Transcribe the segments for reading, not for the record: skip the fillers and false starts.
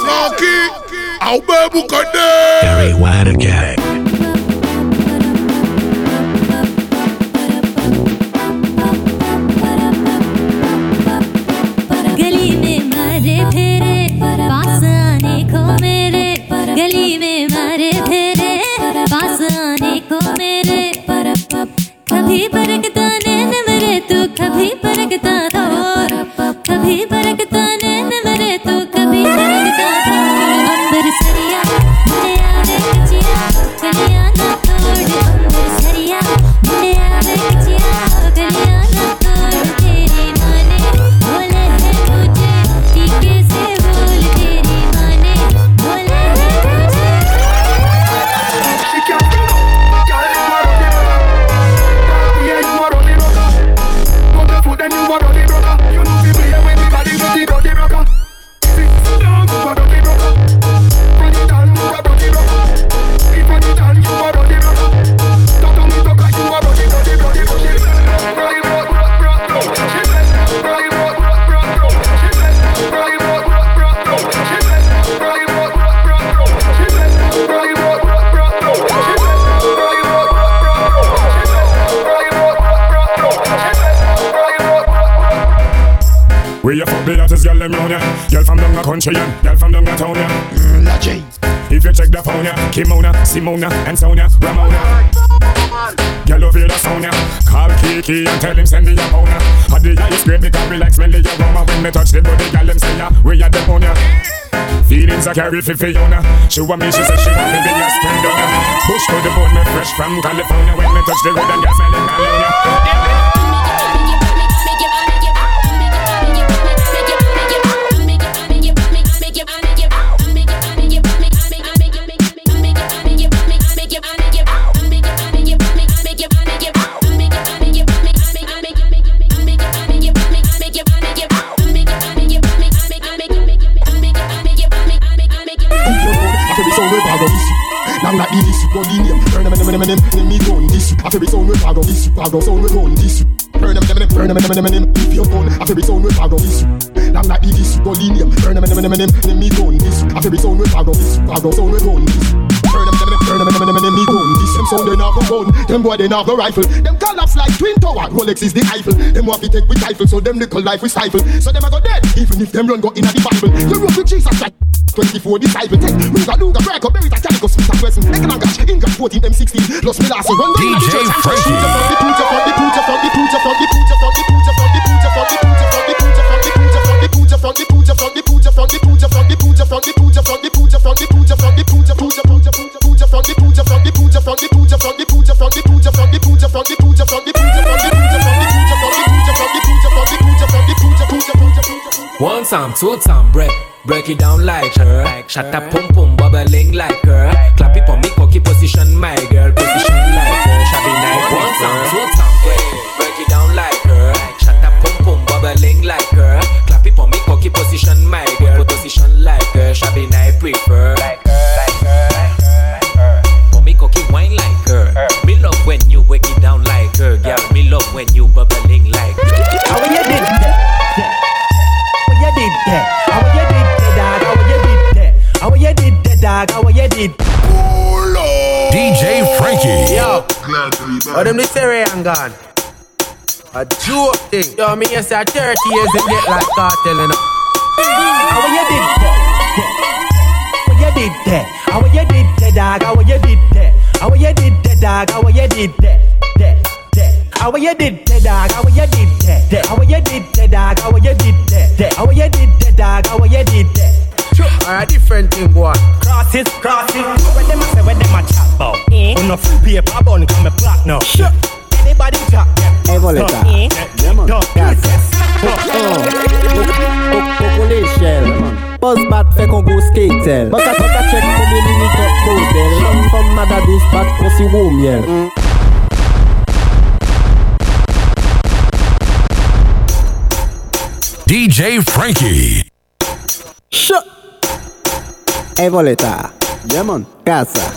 Frankie, au bebu kade. Very wide again. गली में मारे फेरे पास आने को मेरे गली में मारे फेरे पास आने को मेरे कभी परखता नैन मेरे तू कभी परखता था और कभी परखता नैन मेरे तू कभी परखता था अंबर सरिया मुझे आवे कचिया गलियां ना तोड़ अंबर सरिया मुझे आवे कचिया गलियां ना तोड़ तेरी माने बोले है मुझे टीके से बोल तेरी माने बोले है मुझे Then you want to be broker. You know we play with me body with the dirty broker. Sit down, you want to be broker. Run it down, you want to be broker. If run it down, you want to be broker. Talk to me, talk like you want to be broker. Right, rock, rock, rock, rock. Right, rock, rock, rock, rock. Right, rock, rock, rock, rock. Right, rock, rock, rock, rock. Right, rock, rock, rock, rock. Right, rock, rock, rock, rock. Right, rock, rock, rock, rock. Where you fuck the hottest girl them round ya? Girl from down the country and girl from down the town ya. If you check the phone ya, Kimona, Simona and Sonia, Ramona. Girl over the sound ya. Call Kiki and tell him send the your phone ya. Had the ice great because we like smelly your aroma. When me touch the body, girl them say ya, where you the phone ya? Feelings I carry for Fiona. She want me, she say she want me be a spring down ya. Push to the bone, me fresh from California. When me touch the road and girl smelling California. Long like the this, go in here. Burn them, me gun this. After we sound we pago this, pago sound we gun this. Burn them, if you gun. After we sound we pago this. Long like the this, go in here. Burn them, me gun this. After we sound we pago this, pago sound we gun this. Burn them, me gun this. Them sound they not go gun, them boy they not go rifle. Them collapse like twin tower. Rolex is the Eiffel. Them want to take with rifle, so them little life we stifle. So them a go dead, even if them run go in the Bible. You rope with Jesus Christ. 24 disciple 10 Ruga, Luga, break up, bury that Calico, Smith and Wesson Economic, English 14, M16 Plus me last one DJ Frankie One time, two time, break it down like her. Shut up, pum pum, bubbling like her. Clap it for me, cocky position, my girl, position like her. Shabby night, one time, two time, break it down like her. Shut up, pum pum, bubbling like her. Clap it for me, cocky position, my girl, position like her. Shabby night, prefer like her. For me, cocky wine like her. Me love when you break it down like her, girl. Me love when you bubbling like her. How you did that? How you did that? How you did that, dog? How you did that? How you did that, dog? How you did? DJ Frankie. Yo, oh them this area and gone. A joke thing. Yo, me you say 30 years and get like cartel, you know. How you did that? How you did that? How you did that, dog? How you did that? How you did that, dog? How you did that? How you did that, dog? How you did that? How you did that, dog? How you did that? How you did that, dog? How you did that? Or a different thing, boy. Cross it. When them a say, when them a chat about, on no free paper bun, come a black now. Anybody chat? Evoleta. Demon. Population. Buzz bat fait qu'on go skatel. Baka check combien minutes top model. From Madadou spot qu'on si wou miel. DJ Frankie. Shut. Evoleta. Demon. Casa.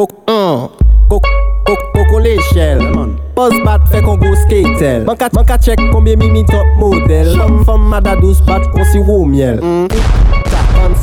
Coco l'échelle. Buzz bat fait qu'on go skatel. Baka check combien minutes top model. From Madadou spot qu'on si wou miel.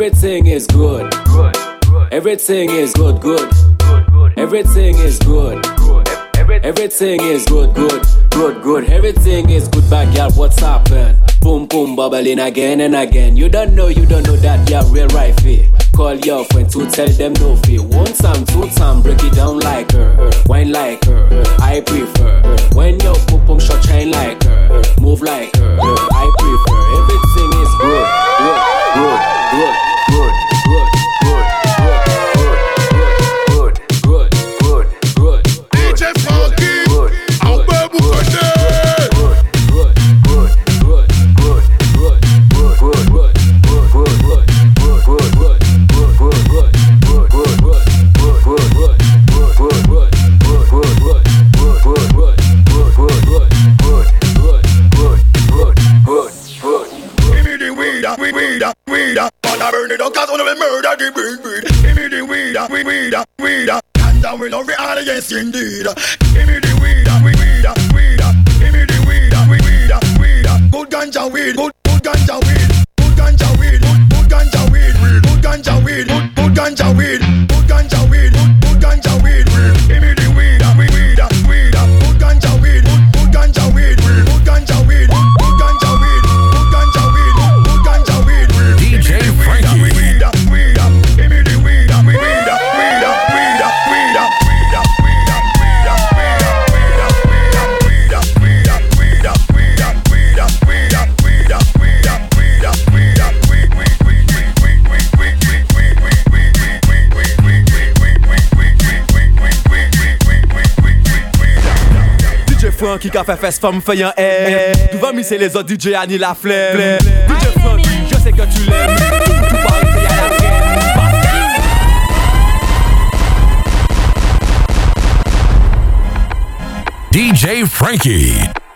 Everything is good. Everything is good. Everything is good. Everything is good. Everything is good, bad girl, what's happened? Boom, boom, bubbling again and again. You don't know that you're real right fit. Call your friend to tell them no fear. 1 time, 2 time, break it down like her. Wine like her, I prefer. When your pum shot shine like her. Move like her, I prefer. Everything is good. DJ Frankie, on peut vous connaître. Weed, but I burn it up 'cause I never murder the weed. Give me the weed, and I will not be out, yes indeed. Give me the weed, give me the weed. Good ganja weed, good ganja weed, good ganja weed, good ganja weed, good ganja weed, good ganja weed, good ganja weed, good ganja weed. Give me the weed, good ganja weed, good ganja weed, good ganja weed, good ganja weed, good ganja weed, good ganja weed. DJ Frankie. Frankie qui fait fesse femme fait un air. Tu vas misser les autres DJ Annie la flemme. DJ Frankie, je sais que tu l'aimes. Tout pareil, c'est à la traîne. DJ Frankie.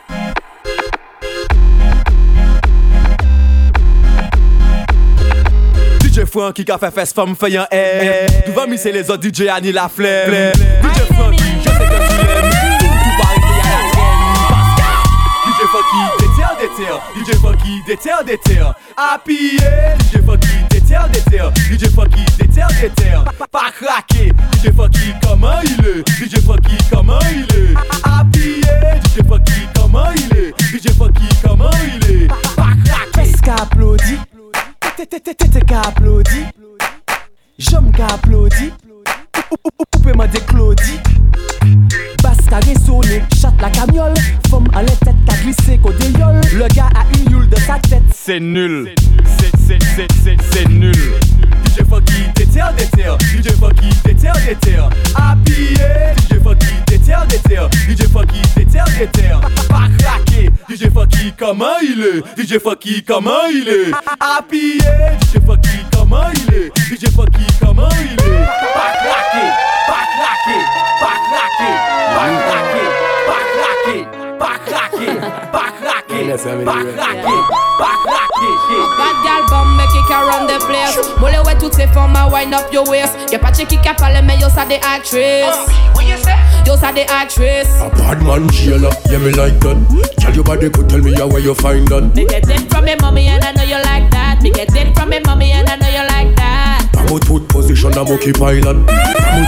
DJ Frankie qui fait fesse femme fait un air. Tu vas misser les autres DJ Annie la flemme. DJ Frankie, je sais que tu l'aimes. DJ Funky déterre, Happy DJ Funky déterre, DJ Funky déterre, pas craquer, DJ Funky comment il est, DJ Funky comment il est, Happy DJ Funky comment il est, DJ Funky comment il est, pas craquer. Qu'est-ce qu'applaudit, t'es qu'applaudit, j'aime qu'applaudit, ou peut m'en déclaudit. Basse qu'a résonné, chatte la camiole. Femme à la tête qu'a glissé qu'au déliole. Le gars a une youle de sa tête. C'est nul. C'est nul. DJ Funky déterre. DJ Funky déterre. Happy DJ Funky déterre. DJ Funky déterre. Pas craquer. DJ Funky comment il est. DJ Funky comment il est. Happy DJ Funky comment il est. DJ Funky comment il est. Pas craquer. Bad gal bomb make it around the place. Mole ouais toutes ces formes à wind up your waist. Y'a pas de qui a parlé mais yo ça des actrices. What you say? Yo ça des actrices. A bad man jailer, yeah me like that. Tell your body could tell me where you find that. Me get it from me mommy and I know you like that. Me get it from me mommy and I know you like that. I'm a tooth position, I'm okay pilot. Me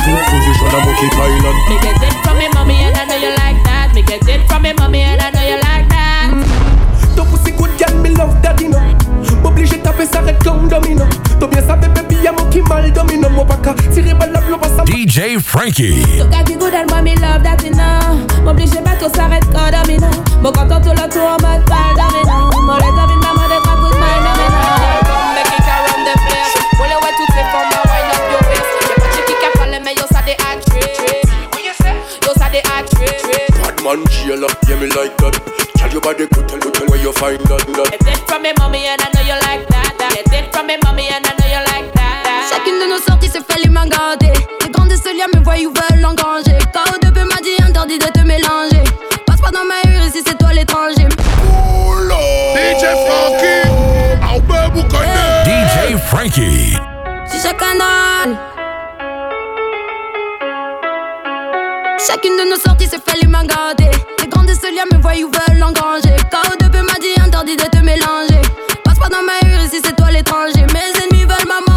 get it from me mommy and I know you like that. Me get it from me mommy and I know you like that. Ton pussy good girl, me love daddy no. M'oblige taper ça red comme domino. T'as bien savais baby y'a mon qui mal domino. Mon baka tirer balle la blow passe. DJ Frankie. Ton gars qui good and moi me love daddy no. M'oblige pas tout ça red comme domino. Mon content tout le tour en mode balle domino. Mon let up in my mode pas good mind domino. Make it around the place. Mole ouais toutes ces formes à wind up your waist. Y'a pas de qui a parlé mais yo ça des actrices. What you say? Yo ça des actrices. Bad man jailer, yeah me like that. Tell your body could tell where you find that. Get it from me mommy and I know you like that. Get it from me mommy and I know you like that. Chacune de nos sorties se fait les mains gardées. Les grands liens me voient ou veulent engranger. KO2 m'a dit interdit de te mélanger. Passe pas dans ma rue si c'est toi l'étranger. DJ Frankie, on peut vous connaître. DJ Frankie. Si chaque canal. Chacune de nos sorties se fait les mains gardées. Les grands liens me voient ou veulent engranger. KO2 m'a dit interdit de te mélanger. Passe pas dans ma rue si c'est toi l'étranger. Mes ennemis veulent ma mort.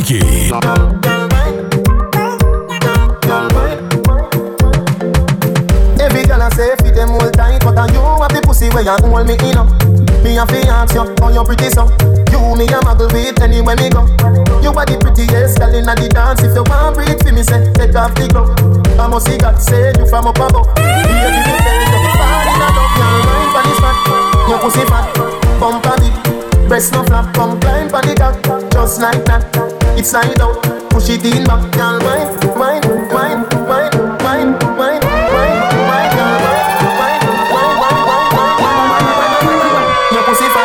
Frankie. Every girl I say fit them all tight, but you have the pussy where you hold me in up. Me a fi ask you, how you pretty so? You me a muggle with anywhere me go. You are the prettiest girl inna the dance. If you want breathe for me, say take off the glove. I must see God say you from up above. Here give me tell you, fall inna love, girl wine pon this fat. Your pussy fat, bump a bit, breast no flap, come climb pon the cock, just like that. It's slide out, push it in back, girl wine, wine, wine, wine, wine, wine, wine, wine, girl wine, wine, wine, wine, wine, wine, wine, your pussy fat.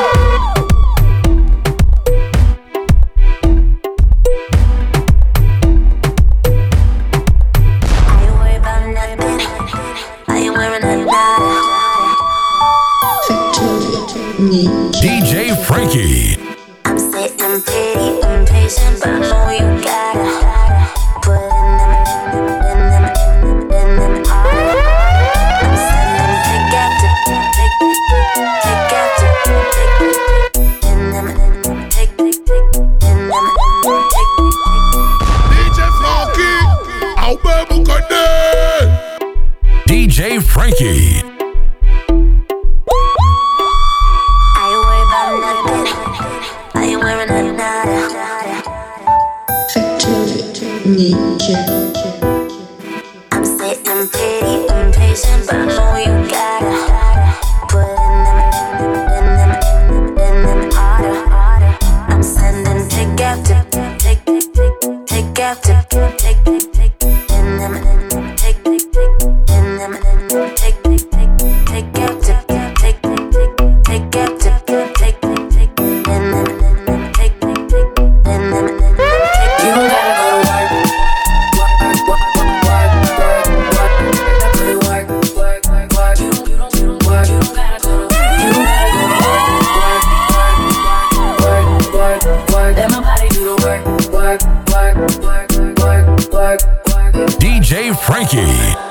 DJ Frankie. I'm sitting pretty impatient, but I know you gotta put in them hard. I'm sending take after in them take in them DJ Frankie, au bébé connaît. DJ Frankie. I'm sitting pretty impatient, but I know you gotta put in them harder. I'm sending take after in them take in them take after in them take in them. You don't gotta go to work. DJ Frankie.